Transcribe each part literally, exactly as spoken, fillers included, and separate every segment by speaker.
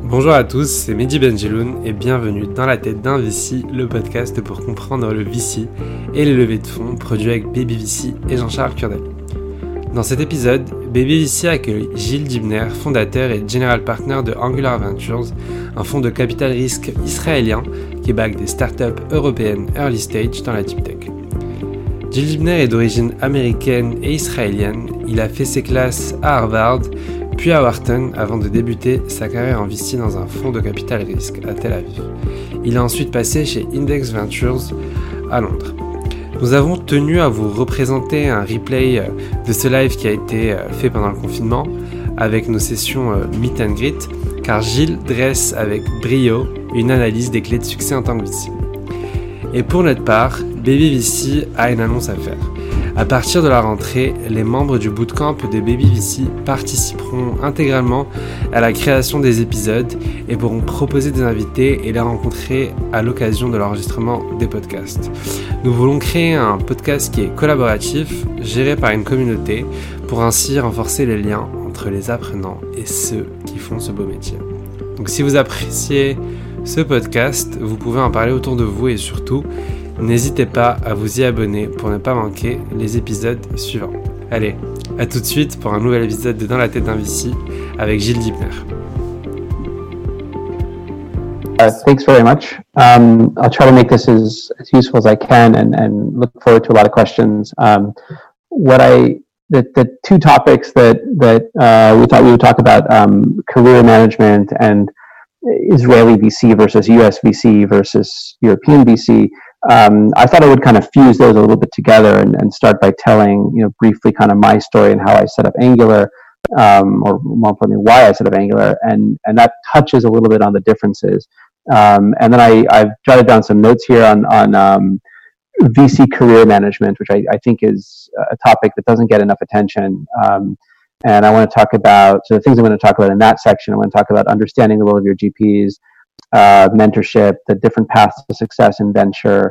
Speaker 1: Bonjour à tous, c'est Mehdi Benjeloun et bienvenue dans la tête d'un V C, le podcast pour comprendre le V C et les levées de fonds produits avec Baby V C et Jean-Charles Kurdali. Dans cet épisode, Baby V C accueille Gilles Dibner, fondateur et general partner de Angular Ventures, un fonds de capital risque israélien qui back des startups européennes early stage dans la deep tech. Gilles Dibner est d'origine américaine et israélienne, il a fait ses classes à Harvard, puis à Wharton avant de débuter sa carrière en V C dans un fonds de capital risque à Tel Aviv. Il a ensuite passé chez Index Ventures à Londres. Nous avons tenu à vous représenter un replay de ce live qui a été fait pendant le confinement avec nos sessions Meet and Greet, car Gilles dresse avec brio une analyse des clés de succès en tant que V C. Et pour notre part, Baby V C a une annonce à faire. À partir de la rentrée, les membres du bootcamp de Baby V C participeront intégralement à la création des épisodes et pourront proposer des invités et les rencontrer à l'occasion de l'enregistrement des podcasts. Nous voulons créer un podcast qui est collaboratif, géré par une communauté, pour ainsi renforcer les liens entre les apprenants et ceux qui font ce beau métier. Donc si vous appréciez ce podcast, vous pouvez en parler autour de vous et surtout, n'hésitez pas à vous y abonner pour ne pas manquer les épisodes suivants. Allez, à tout de suite pour un nouvel épisode de Dans la tête d'un V C avec Gilles Dibner.
Speaker 2: Uh, thanks very much. Um, I'll try to make this as, as useful as I can and, and look forward to a lot of questions. Um, what I the, the two topics that that uh, we thought we would talk about, um, career management and Israeli V C versus U S V C versus European V C. Um, I thought I would kind of fuse those a little bit together and, and start by telling, you know, briefly kind of my story and how I set up Angular, um, or more importantly, why I set up Angular, and and that touches a little bit on the differences. Um, and then I, I've jotted down some notes here on on um, V C career management, which I, I think is a topic that doesn't get enough attention. Um, and I want to talk about, so the things I'm going to talk about in that section, I want to talk about understanding the role of your G Ps, uh, mentorship, the different paths to success in venture,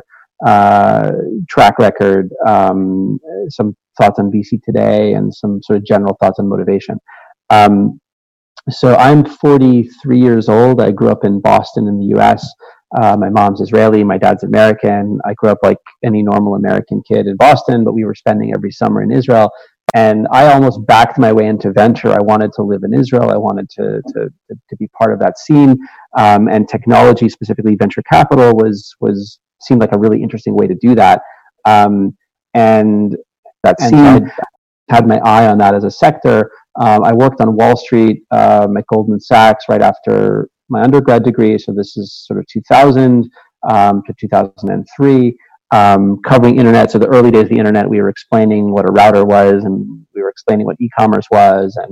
Speaker 2: uh, track record, um, some thoughts on V C today, and some sort of general thoughts on motivation. Um, so I'm forty-three years old. I grew up in Boston in the U S. Uh, my mom's Israeli, my dad's American. I grew up like any normal American kid in Boston, but we were spending every summer in Israel. And I almost backed my way into venture. I wanted to live in Israel. I wanted to to, to be part of that scene. Um, and technology, specifically venture capital, was was seemed like a really interesting way to do that. Um, and that scene, and so I had my eye on that as a sector. Um, I worked on Wall Street um, at Goldman Sachs right after my undergrad degree. So this is sort of two thousand um, to two thousand three. Um, covering internet. So the early days of the internet, we were explaining what a router was, and we were explaining what e-commerce was, and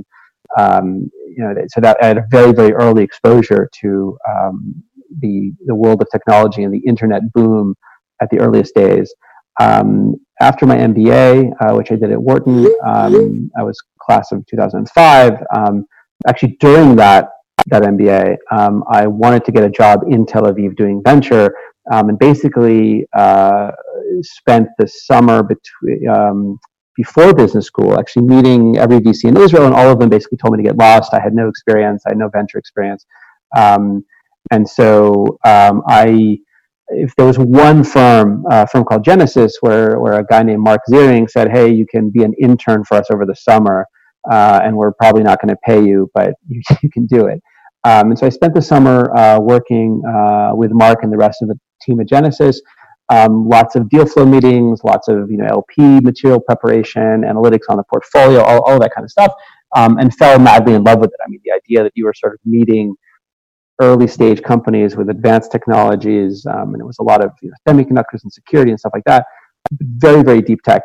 Speaker 2: um, you know, so that I had a very, very early exposure to um, the the world of technology and the internet boom at the earliest days. Um, after my M B A, uh, which I did at Wharton, um, I was class of two thousand five. Um, actually, during that that M B A, um, I wanted to get a job in Tel Aviv doing venture. Um, and basically uh, spent the summer between um, before business school, actually meeting every V C in Israel, and all of them basically told me to get lost. I had no experience, I had no venture experience, um, and so um, I, if there was one firm, uh, a firm called Genesis, where where a guy named Mark Ziering said, "Hey, you can be an intern for us over the summer, uh, and we're probably not going to pay you, but you, you can do it." Um, and so I spent the summer uh, working uh, with Mark and the rest of the team at Genesis. Um, lots of deal flow meetings, lots of you know L P material preparation, analytics on the portfolio, all, all of that kind of stuff, um, and fell madly in love with it. I mean, the idea that you were sort of meeting early stage companies with advanced technologies, um, and it was a lot of you know, semiconductors and security and stuff like that. Very, very deep tech.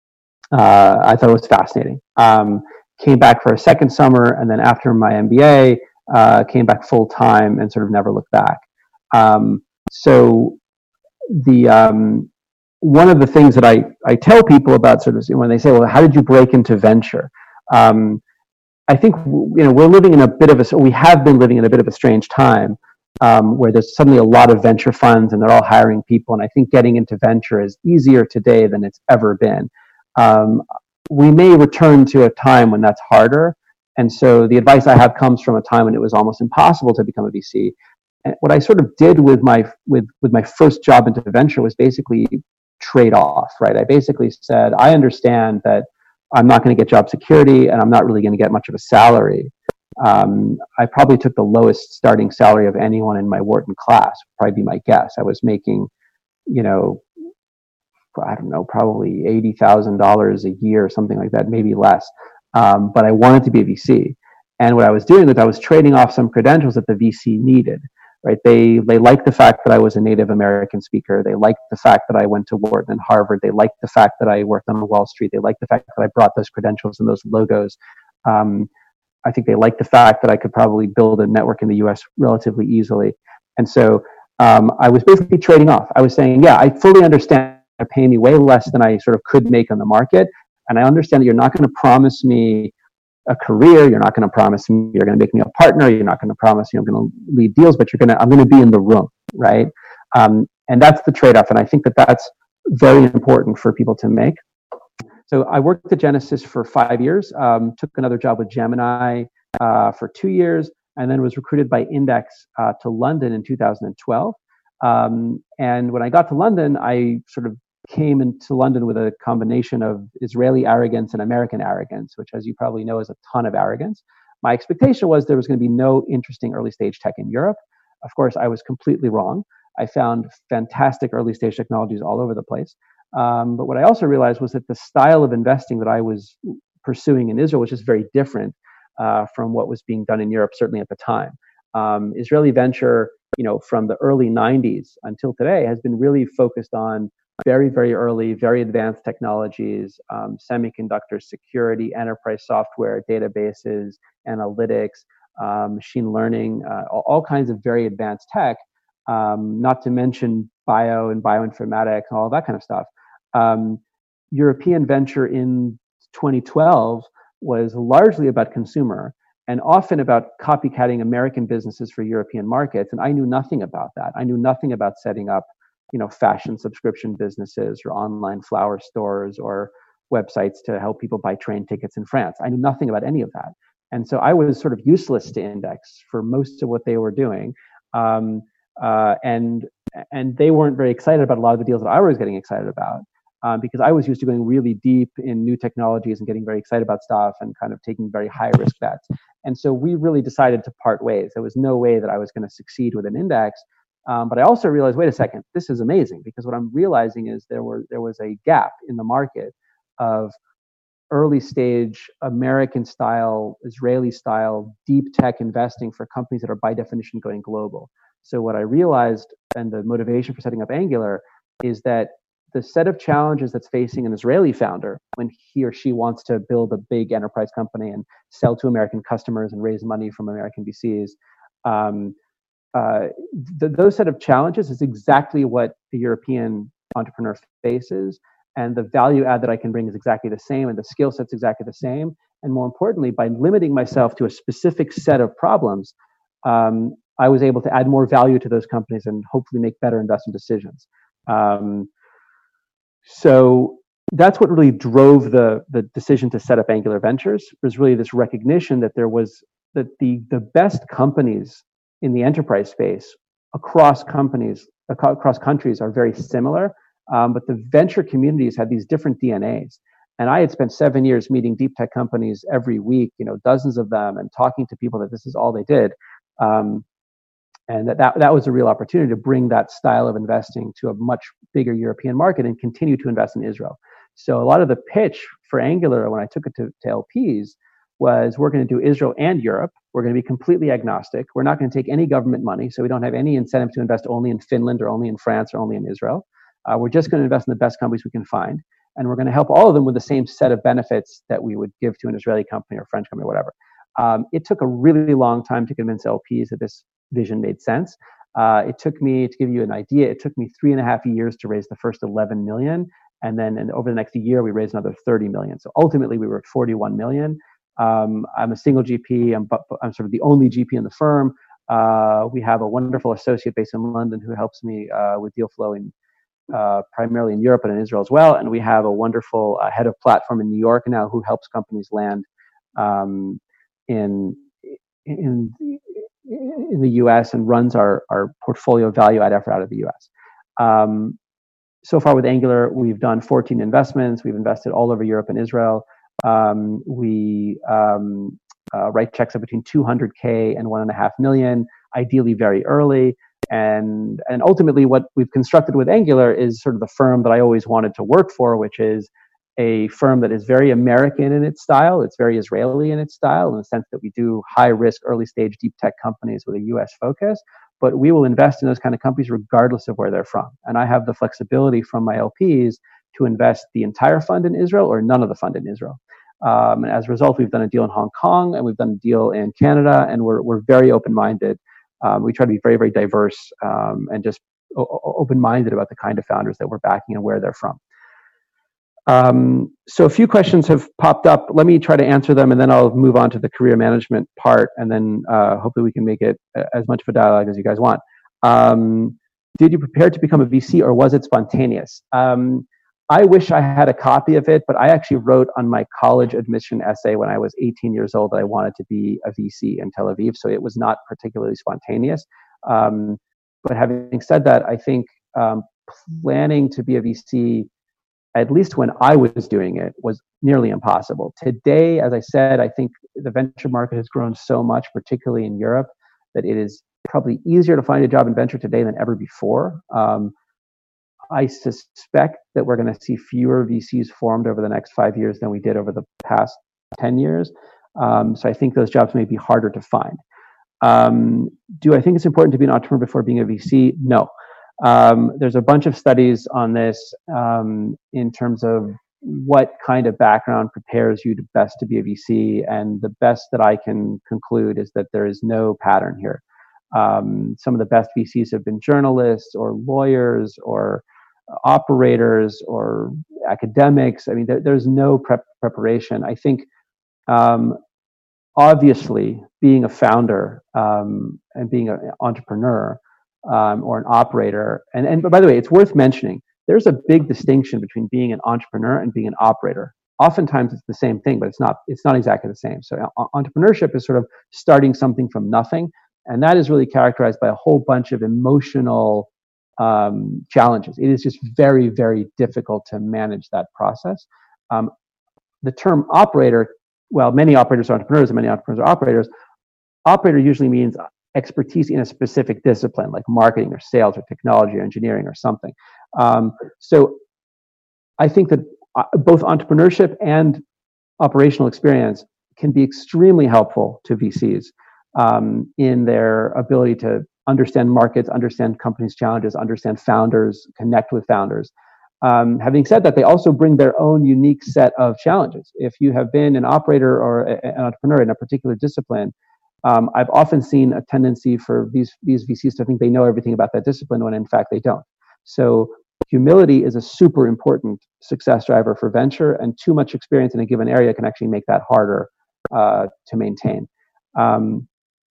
Speaker 2: Uh, I thought it was fascinating. Um, came back for a second summer, and then after my M B A, uh, came back full time and sort of never looked back. Um, so the um, one of the things that I, I tell people about sort of when they say, well, how did you break into venture? Um, I think you know we're living in a bit of a we have been living in a bit of a strange time um, where there's suddenly a lot of venture funds and they're all hiring people, and I think getting into venture is easier today than it's ever been. Um, we may return to a time when that's harder, And so the advice I have comes from a time when it was almost impossible to become a V C. And what I sort of did with my with with my first job into venture was basically trade off, right? I basically said, I understand that I'm not going to get job security and I'm not really going to get much of a salary. Um, I probably took the lowest starting salary of anyone in my Wharton class, would probably be my guess. I was making, you know, I don't know, probably eighty thousand dollars a year or something like that, maybe less. Um, but I wanted to be a V C. And what I was doing was I was trading off some credentials that the V C needed, right? They they liked the fact that I was a Native American speaker. They liked the fact that I went to Wharton and Harvard. They liked the fact that I worked on Wall Street. They liked the fact that I brought those credentials and those logos. Um, I think they liked the fact that I could probably build a network in the U S relatively easily. And so um, I was basically trading off. I was saying, yeah, I fully understand you're paying me way less than I sort of could make on the market. And I understand that you're not going to promise me a career. You're not going to promise me you're going to make me a partner. You're not going to promise me I'm going to lead deals, but you're going to, I'm going to be in the room, right? Um, and that's the trade-off. And I think that that's very important for people to make. So I worked at Genesis for five years, um, took another job with Gemini uh, for two years, and then was recruited by Index uh, to London in two thousand twelve. Um, and when I got to London, I sort of came into London with a combination of Israeli arrogance and American arrogance, which, as you probably know, is a ton of arrogance. My expectation was there was going to be no interesting early stage tech in Europe. Of course, I was completely wrong. I found fantastic early stage technologies all over the place. Um, but what I also realized was that the style of investing that I was pursuing in Israel was just very different uh, from what was being done in Europe, certainly at the time. Um, Israeli venture, you know, from the early nineties until today has been really focused on very, very early, very advanced technologies, um, semiconductor security, enterprise software, databases, analytics, um, machine learning, uh, all, all kinds of very advanced tech, um, not to mention bio and bioinformatics, all that kind of stuff. Um, European venture in twenty twelve was largely about consumer and often about copycatting American businesses for European markets. And I knew nothing about that. I knew nothing about setting up, you know, fashion subscription businesses or online flower stores or websites to help people buy train tickets in France. I knew nothing about any of that. And so I was sort of useless to Index for most of what they were doing. Um, uh, and and they weren't very excited about a lot of the deals that I was getting excited about. Um, because I was used to going really deep in new technologies and getting very excited about stuff and kind of taking very high risk bets. And so we really decided to part ways. There was no way that I was going to succeed with an Index. Um, but I also realized, wait a second, this is amazing, because what I'm realizing is there were there was a gap in the market of early stage American style, Israeli style, deep tech investing for companies that are by definition going global. So what I realized, and the motivation for setting up Angular, is that the set of challenges that's facing an Israeli founder when he or she wants to build a big enterprise company and sell to American customers and raise money from American V Cs, um, uh, th- those set of challenges is exactly what the European entrepreneur faces. And the value add that I can bring is exactly the same, and the skill set's exactly the same. And more importantly, by limiting myself to a specific set of problems, um, I was able to add more value to those companies and hopefully make better investment decisions. Um, So that's what really drove the the decision to set up Angular Ventures, was really this recognition that there was that the the best companies in the enterprise space across companies, across countries are very similar, um, but the venture communities had these different D N As. And I had spent seven years meeting deep tech companies every week, you know, dozens of them, and talking to people that this is all they did. Um, And that, that that was a real opportunity to bring that style of investing to a much bigger European market and continue to invest in Israel. So a lot of the pitch for Angular when I took it to, to L Ps was, we're going to do Israel and Europe. We're going to be completely agnostic. We're not going to take any government money, so we don't have any incentive to invest only in Finland or only in France or only in Israel. Uh, we're just going to invest in the best companies we can find. And we're going to help all of them with the same set of benefits that we would give to an Israeli company or French company or whatever. Um, it took a really long time to convince L Ps that this vision made sense. Uh, it took me, to give you an idea, it took me three and a half years to raise the first eleven million. And then and over the next year, we raised another thirty million. So ultimately, we were at forty-one million. Um, I'm a single G P. I'm, I'm sort of the only G P in the firm. Uh, we have a wonderful associate based in London who helps me uh, with deal flow in uh, primarily in Europe and in Israel as well. And we have a wonderful uh, head of platform in New York now who helps companies land um, in in in the U S and runs our our portfolio value add effort out of the U S. Um, so far with Angular, we've done fourteen investments. We've invested all over Europe and Israel. Um, we um, uh, write checks of between two hundred K and one and a half million, ideally very early. And and ultimately, what we've constructed with Angular is sort of the firm that I always wanted to work for, which is a firm that is very American in its style. It's very Israeli in its style, in the sense that we do high risk, early stage deep tech companies with a U S focus. But we will invest in those kind of companies regardless of where they're from. And I have the flexibility from my L Ps to invest the entire fund in Israel or none of the fund in Israel. Um, and as a result, we've done a deal in Hong Kong and we've done a deal in Canada, and we're we're very open-minded. Um, we try to be very, very diverse um, and just o- open-minded about the kind of founders that we're backing and where they're from. Um, so a few questions have popped up. Let me try to answer them, and then I'll move on to the career management part, and then uh, hopefully we can make it as much of a dialogue as you guys want. Um, did you prepare to become a V C, or was it spontaneous? Um, I wish I had a copy of it, but I actually wrote on my college admission essay when I was eighteen years old that I wanted to be a V C in Tel Aviv, so it was not particularly spontaneous. Um, but having said that, I think um, planning to be a V C, at least when I was doing it, was nearly impossible. Today, as I said, I think the venture market has grown so much, particularly in Europe, that it is probably easier to find a job in venture today than ever before. Um, I suspect that we're going to see fewer V Cs formed over the next five years than we did over the past ten years. Um, so I think those jobs may be harder to find. Um, do I think it's important to be an entrepreneur before being a V C? No. Um, there's a bunch of studies on this um, in terms of what kind of background prepares you to best to be a V C, and the best that I can conclude is that there is no pattern here. Um, some of the best V Cs have been journalists or lawyers or operators or academics. I mean, there, there's no prep preparation. I think um, obviously being a founder um, and being an entrepreneur Um, or an operator. And, and but by the way, it's worth mentioning, there's a big distinction between being an entrepreneur and being an operator. Oftentimes it's the same thing, but it's not, it's not exactly the same. So uh, entrepreneurship is sort of starting something from nothing. And that is really characterized by a whole bunch of emotional um, challenges. It is just very, very difficult to manage that process. Um, the term operator, well, many operators are entrepreneurs and many entrepreneurs are operators. Operator usually means expertise in a specific discipline, like marketing or sales or technology or engineering or something. Um, so I think that both entrepreneurship and operational experience can be extremely helpful to V Cs um, in their ability to understand markets, understand companies' challenges, understand founders, connect with founders. Um, having said that, they also bring their own unique set of challenges. If you have been an operator or a, an entrepreneur in a particular discipline, Um, I've often seen a tendency for these, these V Cs to think they know everything about that discipline when in fact they don't. So humility is a super important success driver for venture, and too much experience in a given area can actually make that harder uh, to maintain. Um,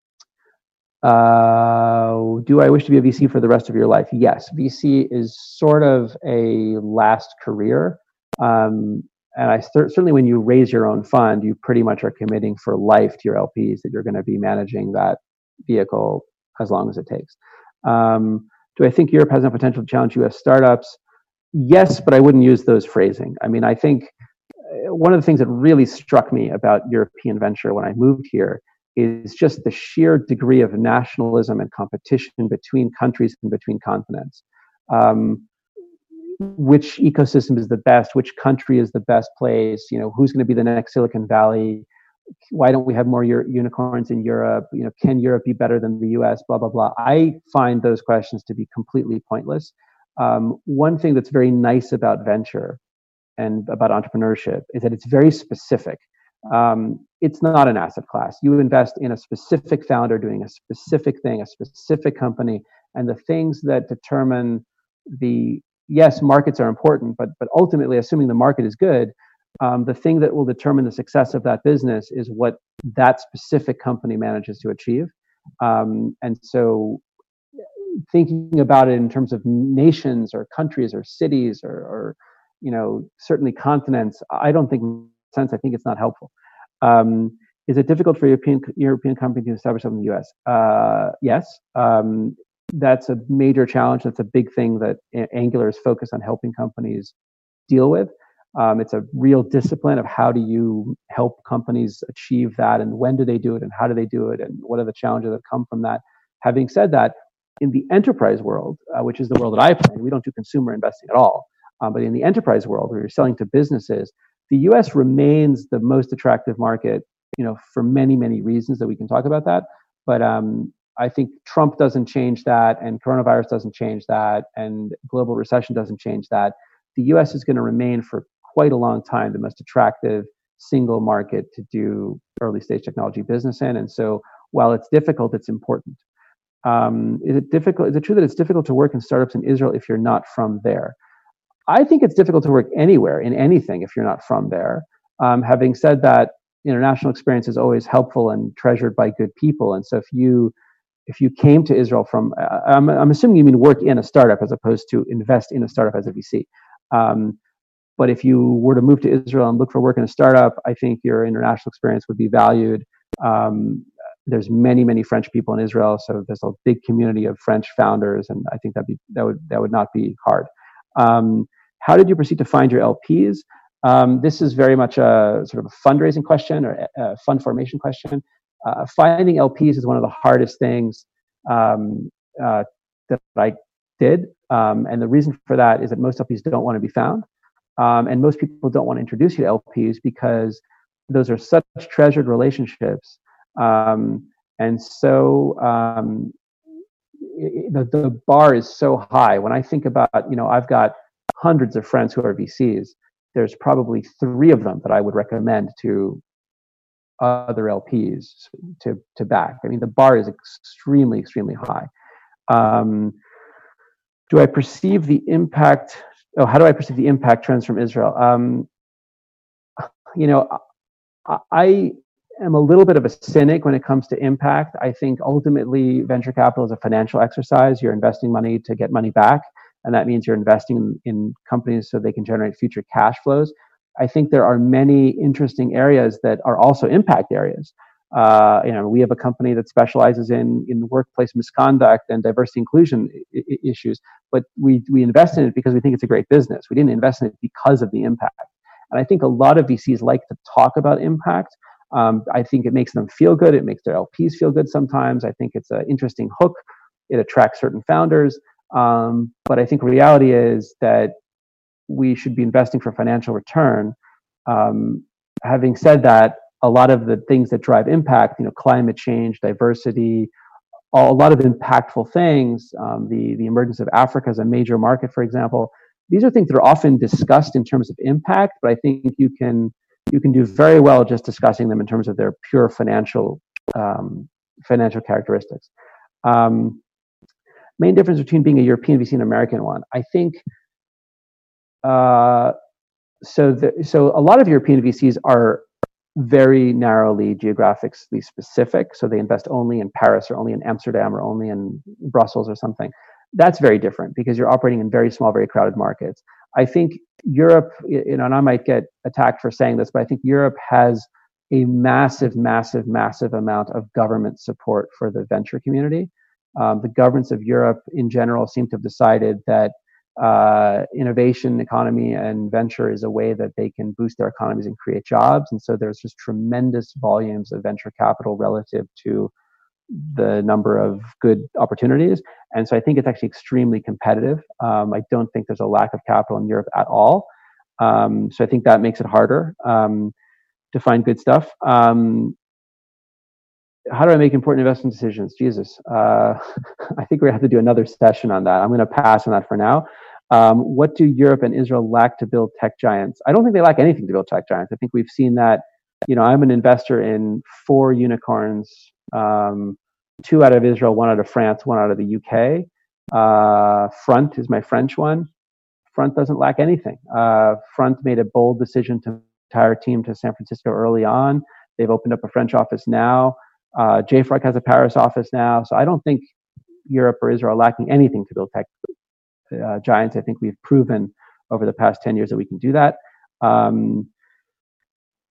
Speaker 2: uh, do I wish to be a V C for the rest of your life? Yes. V C is sort of a last career. Um, And I th- certainly, when you raise your own fund, you pretty much are committing for life to your L Ps that you're going to be managing that vehicle as long as it takes. Um, do I think Europe has a potential to challenge U S startups? Yes, but I wouldn't use those phrasing. I mean, I think one of the things that really struck me about European venture when I moved here is just the sheer degree of nationalism and competition between countries and between continents. Um, which ecosystem is the best, which country is the best place, you know, who's going to be the next Silicon Valley, why don't we have more Euro- unicorns in Europe, you know, can Europe be better than the U S, blah, blah, blah. I find those questions to be completely pointless. Um, one thing that's very nice about venture and about entrepreneurship is that it's very specific. Um, it's not an asset class. You invest in a specific founder doing a specific thing, a specific company, and the things that determine the yes, markets are important, but but ultimately, assuming the market is good, um, the thing that will determine the success of that business is what that specific company manages to achieve. Um, and so, thinking about it in terms of nations or countries or cities or, or you know, certainly continents, I don't think makes sense. I think it's not helpful. Um, is it difficult for European European companies to establish something in the U S? Uh, yes. Um, that's a major challenge. That's a big thing that Angular is focused on helping companies deal with. Um, it's a real discipline of how do you help companies achieve that, and when do they do it, and how do they do it, and what are the challenges that come from that. Having said that, in the enterprise world, uh, which is the world that I play, we don't do consumer investing at all. Um, but in the enterprise world, where you're selling to businesses, the U S remains the most attractive market, you know, for many, many reasons that we can talk about that. But um, I think Trump doesn't change that, and coronavirus doesn't change that, and global recession doesn't change that. The U S is going to remain for quite a long time the most attractive single market to do early stage technology business in. And so while it's difficult, it's important. Um, is it difficult? Is it true that it's difficult to work in startups in Israel if you're not from there? I think it's difficult to work anywhere in anything if you're not from there. Um, having said that, international experience is always helpful and treasured by good people. And so if you if you came to Israel from, uh, I'm, I'm assuming you mean work in a startup as opposed to invest in a startup as a V C. Um, but if you were to move to Israel and look for work in a startup, I think your international experience would be valued. Um, there's many, many French people in Israel, so there's a big community of French founders, and I think that be that would that would not be hard. Um, how did you proceed to find your L Ps? Um, this is very much a sort of a fundraising question or a fund formation question. Uh, finding L Ps is one of the hardest things um, uh, that I did, um, and the reason for that is that most L Ps don't want to be found. Um, and most people don't want to introduce you to L Ps because those are such treasured relationships. Um, and so um, it, the, the bar is so high. When I think about, you know, I've got hundreds of friends who are V Cs. There's probably three of them that I would recommend to other L Ps to, to back. I mean, the bar is extremely, extremely high. Um, do I perceive the impact... Oh, how do I perceive the impact trends from Israel? Um, you know, I, I am a little bit of a cynic when it comes to impact. I think ultimately venture capital is a financial exercise. You're investing money to get money back, and that means you're investing in, in companies so they can generate future cash flows. I think there are many interesting areas that are also impact areas. Uh, you know, we have a company that specializes in in workplace misconduct and diversity inclusion I- I issues, but we we invest in it because we think it's a great business. We didn't invest in it because of the impact. And I think a lot of V Cs like to talk about impact. Um, I think it makes them feel good. It makes their L Ps feel good sometimes. I think it's an interesting hook. It attracts certain founders. Um, but I think reality is that we should be investing for financial return. Um, having said that, a lot of the things that drive impact, you know, climate change, diversity, all, a lot of impactful things, um, the, the emergence of Africa as a major market, for example, these are things that are often discussed in terms of impact, but I think you can you can do very well just discussing them in terms of their pure financial um, financial characteristics. Um, main difference between being a European V C and an American one, I think, uh, so the, so a lot of European V Cs are very narrowly geographically specific. So they invest only in Paris or only in Amsterdam or only in Brussels or something. That's very different because you're operating in very small, very crowded markets. I think Europe, you know, and I might get attacked for saying this, but I think Europe has a massive, massive, massive amount of government support for the venture community. Um, the governments of Europe in general seem to have decided that Uh, innovation, economy, and venture is a way that they can boost their economies and create jobs. And so there's just tremendous volumes of venture capital relative to the number of good opportunities. And so I think it's actually extremely competitive. Um, I don't think there's a lack of capital in Europe at all. Um, so I think that makes it harder um, to find good stuff. Um, how do I make important investment decisions? Jesus. Uh, I think we're going to have to do another session on that. I'm going to pass on that for now. Um, what do Europe and Israel lack to build tech giants? I don't think they lack anything to build tech giants. I think we've seen that. You know, I'm an investor in four unicorns, um, two out of Israel, one out of France, one out of the U K. Uh, Front is my French one. Front doesn't lack anything. Uh, Front made a bold decision to retire a team to San Francisco early on. They've opened up a French office now. Uh, J F R C has a Paris office now. So I don't think Europe or Israel are lacking anything to build tech Uh, giants. I think we've proven over the past ten years that we can do that. Um,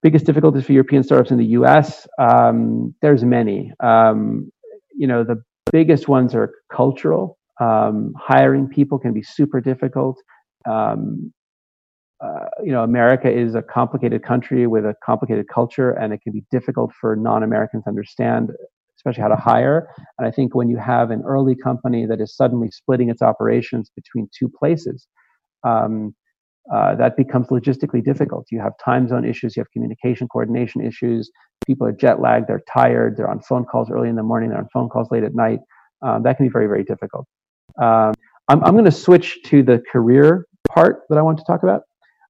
Speaker 2: biggest difficulties for European startups in the U S, um, there's many. Um, you know, the biggest ones are cultural. Um, hiring people can be super difficult. Um, uh, you know, America is a complicated country with a complicated culture, and it can be difficult for non-Americans to understand, especially how to hire. And I think when you have an early company that is suddenly splitting its operations between two places, um, uh, that becomes logistically difficult. You have time zone issues, you have communication coordination issues, people are jet lagged, they're tired, they're on phone calls early in the morning, they're on phone calls late at night. Um, that can be very, very difficult. Um, I'm, I'm going to switch to the career part that I want to talk about.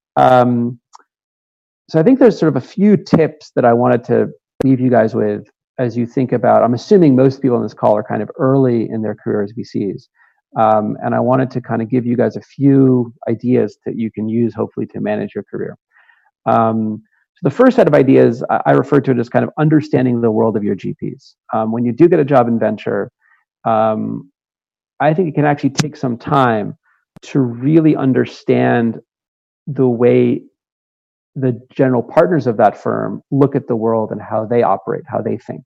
Speaker 2: Um, so I think there's sort of a few tips that I wanted to leave you guys with as you think about, I'm assuming most people on this call are kind of early in their career as V Cs. Um, and I wanted to kind of give you guys a few ideas that you can use hopefully to manage your career. Um, so the first set of ideas, I, I refer to it as kind of understanding the world of your G Ps. Um, when you do get a job in venture, um, I think it can actually take some time to really understand the way the general partners of that firm look at the world and how they operate, how they think.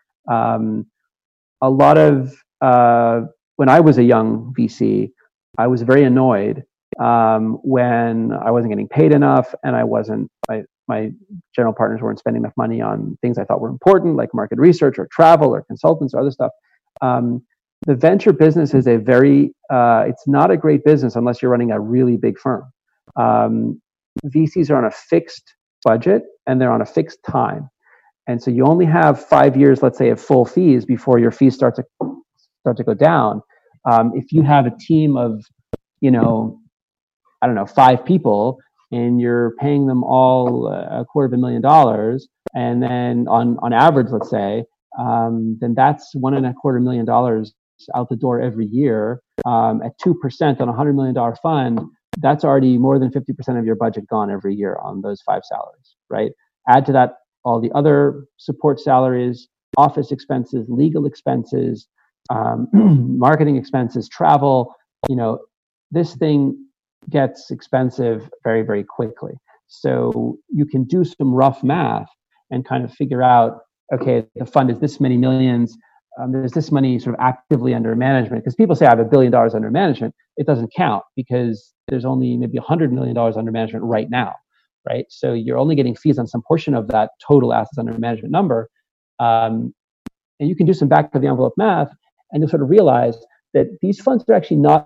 Speaker 2: Um, a lot of, uh, when I was a young V C, I was very annoyed um, when I wasn't getting paid enough and I wasn't, my, my general partners weren't spending enough money on things I thought were important, like market research or travel or consultants or other stuff. Um, the venture business is a very, uh, it's not a great business unless you're running a really big firm. Um, V Cs are on a fixed budget and they're on a fixed time. And so you only have five years, let's say, of full fees before your fees start to start to go down. Um, if you have a team of, you know, I don't know, five people, and you're paying them all a quarter of a million dollars, and then on on average, let's say, um, then that's one and a quarter million dollars out the door every year. Um, at two percent on a hundred million dollar fund, that's already more than fifty percent of your budget gone every year on those five salaries, right? Add to that all the other support salaries, office expenses, legal expenses, um, marketing expenses, travel. You know, this thing gets expensive very, very quickly. So you can do some rough math and kind of figure out, okay, the fund is this many millions. Um, there's this money sort of actively under management. Because people say I have a billion dollars under management. It doesn't count because there's only maybe one hundred million dollars under management right now, right? So you're only getting fees on some portion of that total assets under management number. Um, and you can do some back of the envelope math and you'll sort of realize that these funds are actually not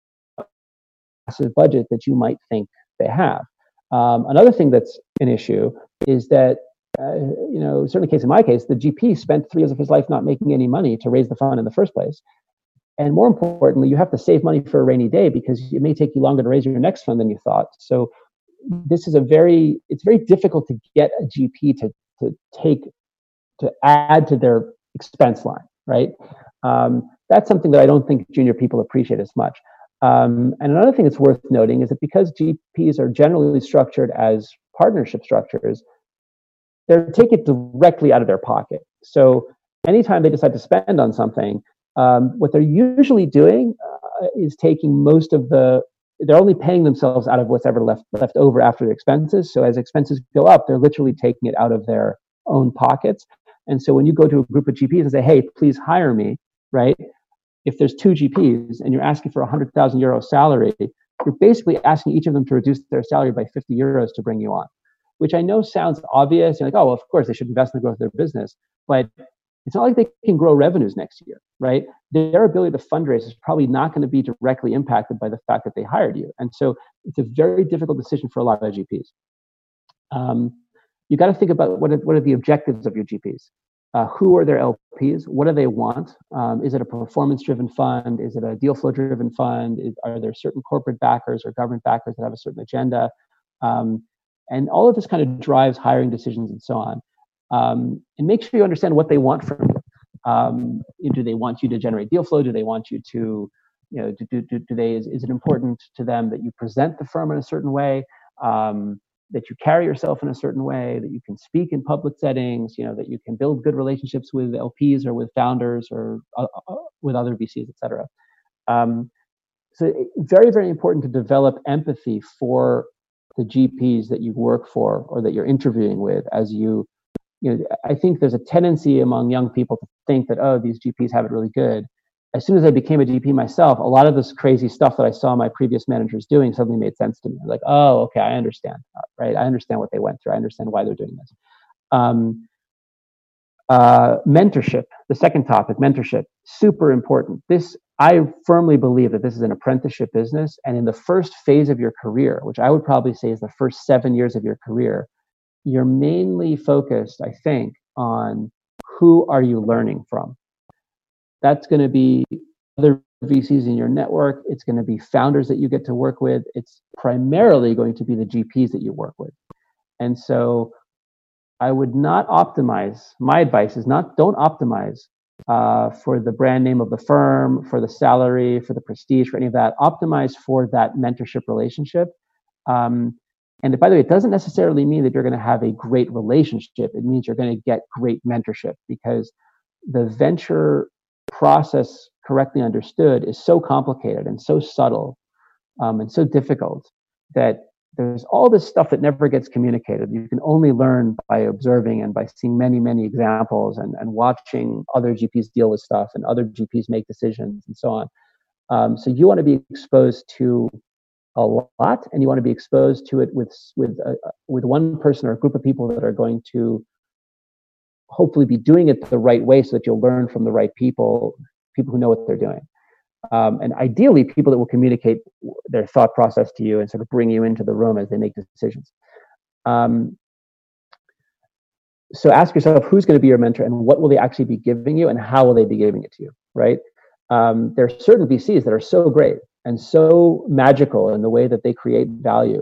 Speaker 2: a massive budget that you might think they have. Um, another thing that's an issue is that Uh, you know, certainly case in my case, the G P spent three years of his life not making any money to raise the fund in the first place. And more importantly, you have to save money for a rainy day because it may take you longer to raise your next fund than you thought. So this is a very, it's very difficult to get a G P to, to take, to add to their expense line, right? Um, that's something that I don't think junior people appreciate as much. Um, and another thing that's worth noting is that because G Ps are generally structured as partnership structures, they're taking it directly out of their pocket. So anytime they decide to spend on something, um, what they're usually doing uh, is taking most of the, they're only paying themselves out of what's ever left left over after the expenses. So as expenses go up, they're literally taking it out of their own pockets. And so when you go to a group of G Ps and say, hey, please hire me, right? If there's two G Ps and you're asking for a one hundred thousand euro salary, you're basically asking each of them to reduce their salary by fifty euros to bring you on. Which I know sounds obvious. You're like, oh, well, of course, they should invest in the growth of their business. But it's not like they can grow revenues next year, right? Their ability to fundraise is probably not going to be directly impacted by the fact that they hired you. And so it's a very difficult decision for a lot of G Ps. Um, you got to think about what are, what are the objectives of your G Ps? Uh, who are their L Ps? What do they want? Um, is it a performance-driven fund? Is it a deal flow-driven fund? Is, are there certain corporate backers or government backers that have a certain agenda? Um, And all of this kind of drives hiring decisions and so on. Um, and make sure you understand what they want from you. Um, do they want you to generate deal flow? Do they want you to, you know, do, do, do, do they, is, is it important to them that you present the firm in a certain way, um, that you carry yourself in a certain way, that you can speak in public settings, you know, that you can build good relationships with L Ps or with founders or uh, uh, with other V Cs, et cetera. Um, so very, very important to develop empathy for the G Ps that you work for or that you're interviewing with as you, you know, I think there's a tendency among young people to think that, oh, these G Ps have it really good. As soon as I became a G P myself, a lot of this crazy stuff that I saw my previous managers doing suddenly made sense to me. Like, oh, okay, I understand, right? I understand what they went through. I understand why they're doing this. Um, uh, mentorship, the second topic, mentorship, super important. This, I firmly believe that this is an apprenticeship business. And in the first phase of your career, which I would probably say is the first seven years of your career, you're mainly focused, I think, on who are you learning from. That's going to be other V Cs in your network. It's going to be founders that you get to work with. It's primarily going to be the G Ps that you work with. And so I would not optimize. My advice is not, don't optimize uh, for the brand name of the firm, for the salary, for the prestige, for any of that. Optimize for that mentorship relationship. Um, and by the way, it doesn't necessarily mean that you're going to have a great relationship. It means you're going to get great mentorship, because the venture process, correctly understood, is so complicated and so subtle um, and so difficult that there's all this stuff that never gets communicated. You can only learn by observing and by seeing many, many examples and, and watching other G Ps deal with stuff and other G Ps make decisions and so on. Um, so you want to be exposed to a lot, and you want to be exposed to it with with uh, with one person or a group of people that are going to hopefully be doing it the right way, so that you'll learn from the right people, people who know what they're doing. Um, and ideally, people that will communicate their thought process to you and sort of bring you into the room as they make decisions. Um, so ask yourself, who's going to be your mentor, and what will they actually be giving you, and how will they be giving it to you, right? Um, there are certain V Cs that are so great and so magical in the way that they create value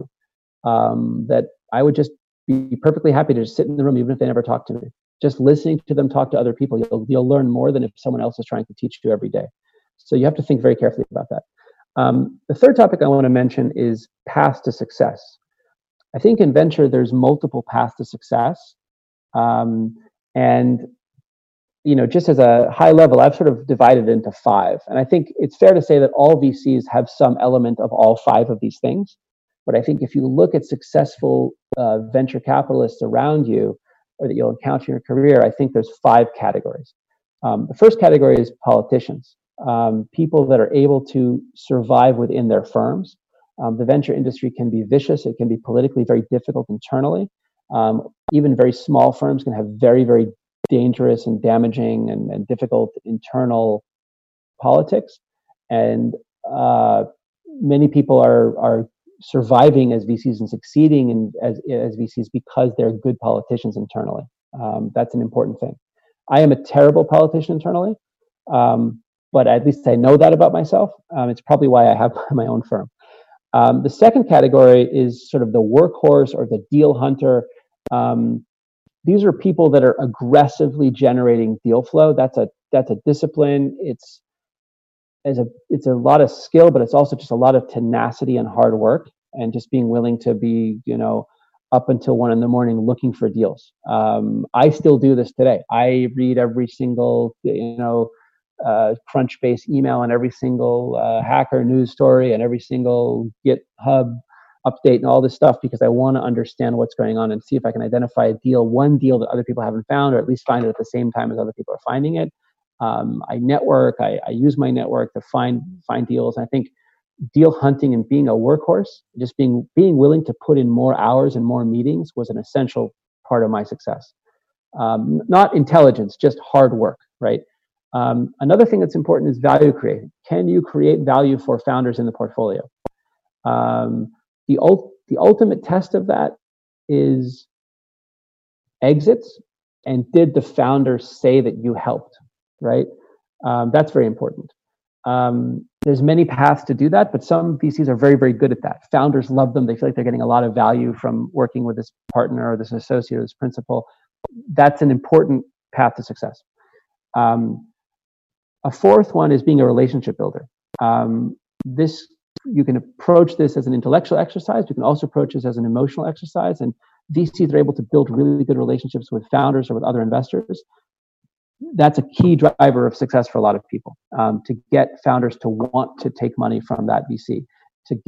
Speaker 2: um, that I would just be perfectly happy to just sit in the room, even if they never talk to me. Just listening to them talk to other people, you'll, you'll learn more than if someone else is trying to teach you every day. So you have to think very carefully about that. Um, the third topic I want to mention is path to success. I think in venture, there's multiple paths to success. Um, and, you know, just as a high level, I've sort of divided it into five. And I think it's fair to say that all V Cs have some element of all five of these things. But I think if you look at successful uh, venture capitalists around you, or that you'll encounter in your career, I think there's five categories. Um, the first category is politicians. Um, people that are able to survive within their firms. Um, the venture industry can be vicious. It can be politically very difficult internally. Um, even very small firms can have very, very dangerous and damaging and, and difficult internal politics. And uh, many people are are surviving as V Cs and succeeding in, as, as V Cs because they're good politicians internally. Um, that's an important thing. I am a terrible politician internally. Um, But at least I know that about myself. Um, it's probably why I have my own firm. Um, the second category is sort of the workhorse or the deal hunter. Um, these are people that are aggressively generating deal flow. That's a that's a discipline. It's as a it's a lot of skill, but it's also just a lot of tenacity and hard work, and just being willing to be, you know, up until one in the morning looking for deals. Um, I still do this today. I read every single, you know, uh, Crunchbase email and every single uh, hacker news story and every single GitHub update and all this stuff, because I want to understand what's going on and see if I can identify a deal, one deal that other people haven't found, or at least find it at the same time as other people are finding it. Um, I network, I, I use my network to find find deals. And I think deal hunting and being a workhorse, just being being willing to put in more hours and more meetings was an essential part of my success. Um, not intelligence, just hard work, right? Um, another thing that's important is value creating. Can you create value for founders in the portfolio? Um, the, ult- the ultimate test of that is exits, and did the founder say that you helped, right? Um, that's very important. Um, there's many paths to do that, but some V Cs are very, very good at that. Founders love them. They feel like they're getting a lot of value from working with this partner or this associate or this principal. That's an important path to success. Um, a fourth one is being a relationship builder. Um, this you can approach this as an intellectual exercise. You can also approach this as an emotional exercise. And V Cs are able to build really good relationships with founders or with other investors. That's a key driver of success for a lot of people, um, to get founders to want to take money from that V C, to get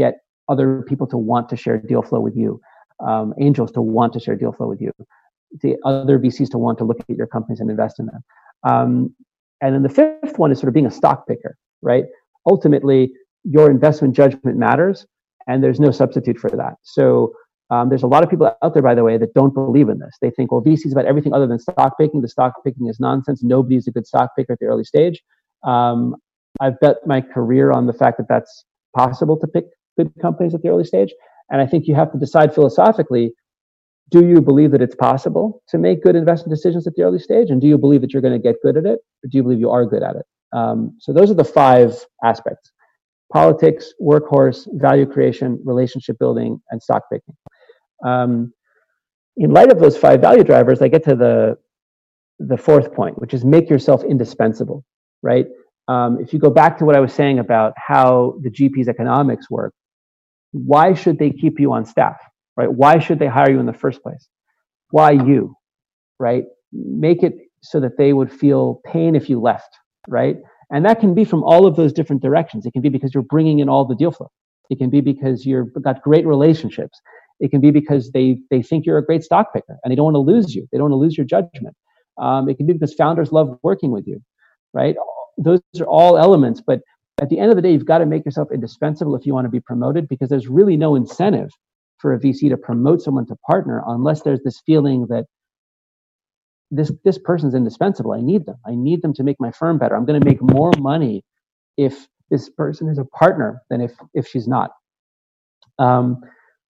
Speaker 2: other people to want to share deal flow with you, um, angels to want to share deal flow with you, the other V Cs to want to look at your companies and invest in them. Um, and then the fifth one is sort of being a stock picker, right? Ultimately, your investment judgment matters, and there's no substitute for that. So um, there's a lot of people out there, by the way, that don't believe in this. They think, well, V C is about everything other than stock picking. The stock picking is nonsense. Nobody's a good stock picker at the early stage. Um, I've bet my career on the fact that that's possible to pick good companies at the early stage. And I think you have to decide philosophically, do you believe that it's possible to make good investment decisions at the early stage? And do you believe that you're going to get good at it? Or do you believe you are good at it? Um, so those are the five aspects: politics, workhorse, value creation, relationship building, and stock picking. Um, in light of those five value drivers, I get to the, the fourth point, which is make yourself indispensable, right? Um, if you go back to what I was saying about how the G P's economics work, why should they keep you on staff, right? Why should they hire you in the first place? Why you, right? Make it so that they would feel pain if you left, right? And that can be from all of those different directions. It can be because you're bringing in all the deal flow. It can be because you've got great relationships. It can be because they they think you're a great stock picker and they don't want to lose you. They don't want to lose your judgment. Um, it can be because founders love working with you, right? Those are all elements, but at the end of the day, you've got to make yourself indispensable if you want to be promoted, because there's really no incentive for a V C to promote someone to partner unless there's this feeling that this this person's indispensable. I need them. I need them to make my firm better. I'm going to make more money if this person is a partner than if if she's not. Um,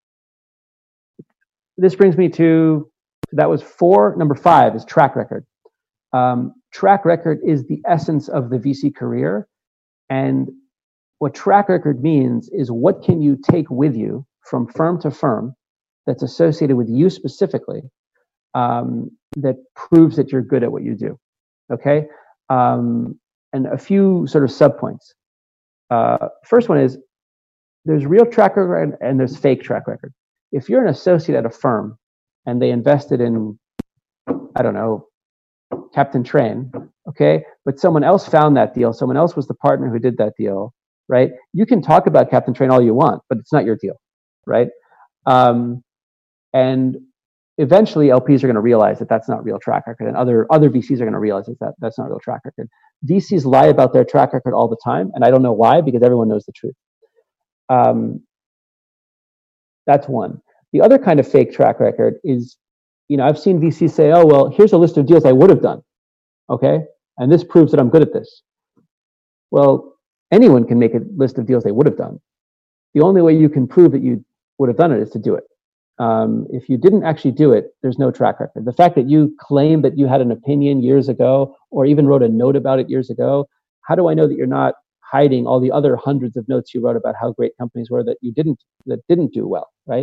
Speaker 2: this brings me to, that was four. Number five is track record. Um, track record is the essence of the V C career. And what track record means is, what can you take with you from firm to firm that's associated with you specifically, um, that proves that you're good at what you do, okay? Um, and a few sort of subpoints. Uh, first one is, there's real track record and there's fake track record. If you're an associate at a firm and they invested in, I don't know, Captain Train, okay, but someone else found that deal, someone else was the partner who did that deal, right? You can talk about Captain Train all you want, but it's not your deal, right? Um, and eventually L Ps are going to realize that that's not real track record, and other other V Cs are going to realize that that's not real track record. V Cs lie about their track record all the time, and I don't know why, because everyone knows the truth. Um, that's one. The other kind of fake track record is, you know, I've seen V Cs say, oh, well, here's a list of deals I would have done, okay? And this proves that I'm good at this. Well, anyone can make a list of deals they would have done. The only way you can prove that you would have done it is to do it. Um, if you didn't actually do it, there's no track record. The fact that you claim that you had an opinion years ago, or even wrote a note about it years ago, how do I know that you're not hiding all the other hundreds of notes you wrote about how great companies were that you didn't, that didn't do well, right?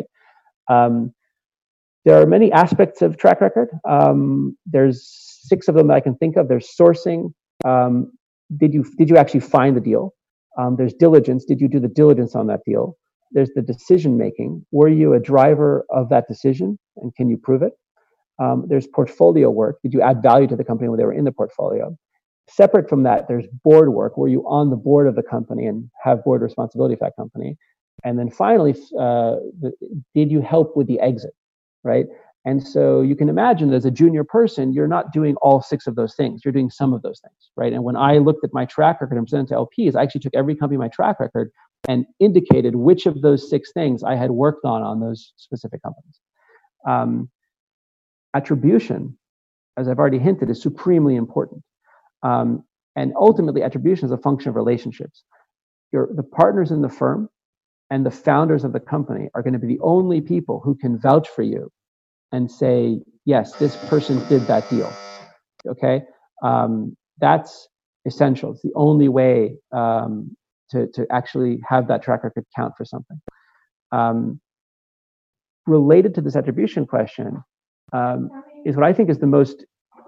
Speaker 2: Um, there are many aspects of track record. Um, there's six of them that I can think of. There's sourcing. Um, did you did you actually find the deal? Um, there's diligence. Did you do the diligence on that deal? There's the decision making. Were you a driver of that decision, and can you prove it? Um, there's portfolio work. Did you add value to the company when they were in the portfolio? Separate from that, there's board work. Were you on the board of the company and have board responsibility for that company? And then finally, uh, the, did you help with the exit, right? And so you can imagine that as a junior person, you're not doing all six of those things. You're doing some of those things, right? And when I looked at my track record and presented to L Ps, I actually took every company in my track record and indicated which of those six things I had worked on on those specific companies. Um, attribution, as I've already hinted, is supremely important. Um, and ultimately, attribution is a function of relationships. Your, the partners in the firm and the founders of the company are going to be the only people who can vouch for you and say, yes, this person did that deal, okay? Um, that's essential. It's the only way um, to, to actually have that track record count for something. Um, related to this attribution question um, is what I think is the most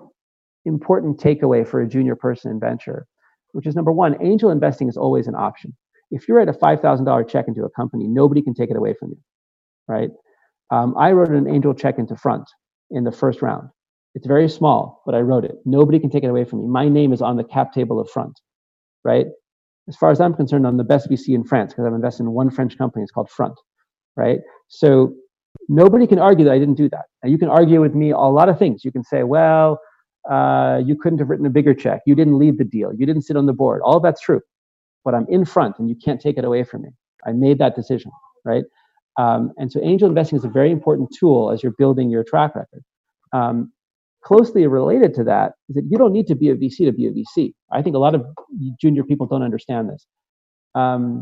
Speaker 2: important takeaway for a junior person in venture, which is number one, angel investing is always an option. If you write a five thousand dollars check into a company, nobody can take it away from you, right? Um, I wrote an angel check into Front in the first round. It's very small, but I wrote it. Nobody can take it away from me. My name is on the cap table of Front, right? As far as I'm concerned, I'm the best V C in France because I've invested in one French company. It's called Front. right? So nobody can argue that I didn't do that. Now you can argue with me a lot of things. You can say, well, uh, you couldn't have written a bigger check. You didn't lead the deal. You didn't sit on the board. All of that's true, but I'm in front and you can't take it away from me. I made that decision, right? Um, and so angel investing is a very important tool as you're building your track record. Um, closely related to that is that you don't need to be a V C to be a V C. I think a lot of junior people don't understand this. Um,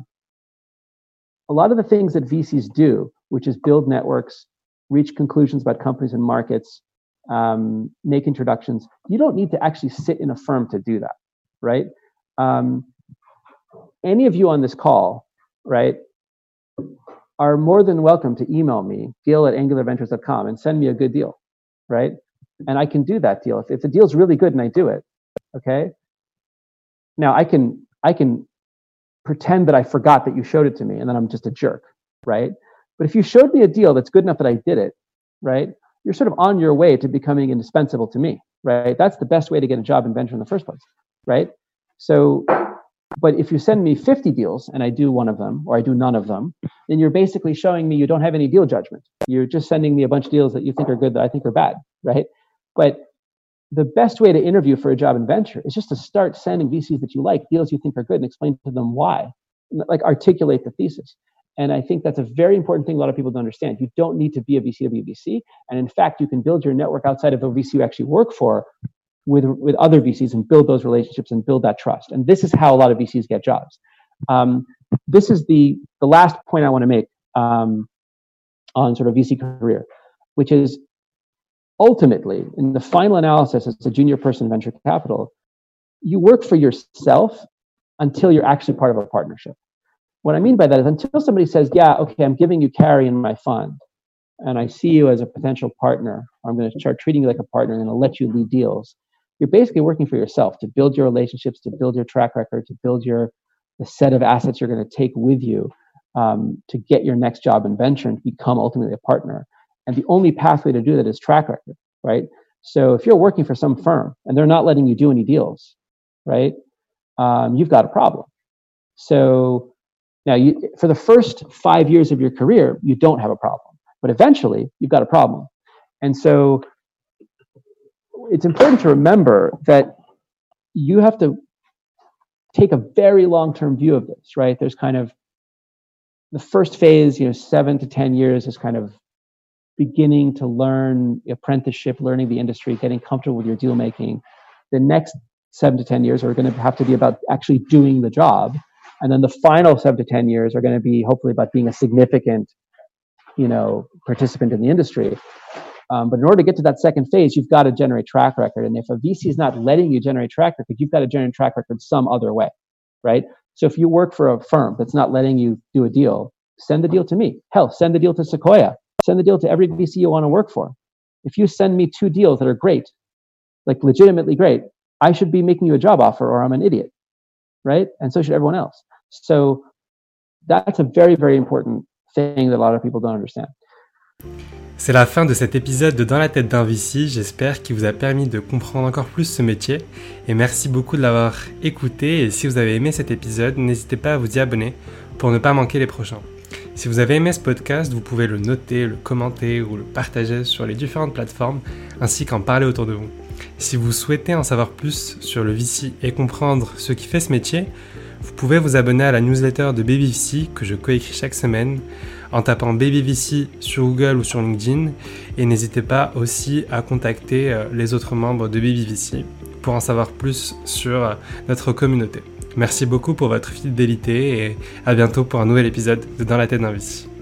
Speaker 2: a lot of the things that V Cs do, which is build networks, reach conclusions about companies and markets, um, make introductions, you don't need to actually sit in a firm to do that, right? Um, any of you on this call, right, are more than welcome to email me, deal at angular ventures dot com, and send me a good deal, right? And I can do that deal. If, if the deal's really good and I do it, okay? Now I can I can pretend that I forgot that you showed it to me and then I'm just a jerk, right? But if you showed me a deal that's good enough that I did it, right, you're sort of on your way to becoming indispensable to me, right? That's the best way to get a job in venture in the first place, right? So, but if you send me fifty deals and I do one of them or I do none of them, then you're basically showing me you don't have any deal judgment. You're just sending me a bunch of deals that you think are good that I think are bad, right? But the best way to interview for a job in venture is just to start sending V Cs that you like, deals you think are good, and explain to them why, like articulate the thesis. And I think that's a very important thing a lot of people don't understand. You don't need to be a V C to be a V C. And in fact, you can build your network outside of the V C you actually work for with, with other V Cs and build those relationships and build that trust. And this is how a lot of V Cs get jobs. Um, this is the, the last point I want to make um, on sort of V C career, which is ultimately, in the final analysis as a junior person in venture capital, you work for yourself until you're actually part of a partnership. What I mean by that is until somebody says, yeah, okay, I'm giving you carry in my fund, and I see you as a potential partner, or I'm going to start treating you like a partner and I'm going to let you lead deals, you're basically working for yourself to build your relationships, to build your track record, to build your the set of assets you're going to take with you um, to get your next job in venture and become ultimately a partner. And the only pathway to do that is track record, right? So if you're working for some firm and they're not letting you do any deals, right, um, you've got a problem. So now, you, for the first five years of your career, you don't have a problem, but eventually you've got a problem. And so it's important to remember that you have to take a very long-term view of this, right? There's kind of the first phase, you know, seven to ten years is kind of beginning to learn apprenticeship, learning the industry, getting comfortable with your deal making. The next seven to ten years are going to have to be about actually doing the job. And then the final seven to ten years are going to be hopefully about being a significant, you know, participant in the industry. Um, but in order to get to that second phase, you've got to generate track record. And if a V C is not letting you generate track record, you've got to generate track record some other way, right? So if you work for a firm that's not letting you do a deal, send the deal to me. Hell, send the deal to Sequoia. Send the deal to every V C you want to work for. If you send me two deals that are great, like legitimately great, I should be making you a job offer or I'm an idiot, right? And so should everyone else. So that's a very, very important thing that a lot of people don't understand.
Speaker 1: C'est la fin de cet épisode de Dans la tête d'un V C. J'espère qu'il vous a permis de comprendre encore plus ce métier. Et merci beaucoup de l'avoir écouté. Et si vous avez aimé cet épisode, n'hésitez pas à vous y abonner pour ne pas manquer les prochains. Si vous avez aimé ce podcast, vous pouvez le noter, le commenter ou le partager sur les différentes plateformes, ainsi qu'en parler autour de vous. Si vous souhaitez en savoir plus sur le V C et comprendre ce qui fait ce métier, vous pouvez vous abonner à la newsletter de Baby V C que je coécris chaque semaine en tapant Baby V C sur Google ou sur LinkedIn, et n'hésitez pas aussi à contacter les autres membres de Baby V C pour en savoir plus sur notre communauté. Merci beaucoup pour votre fidélité et à bientôt pour un nouvel épisode de Dans la tête d'un V C.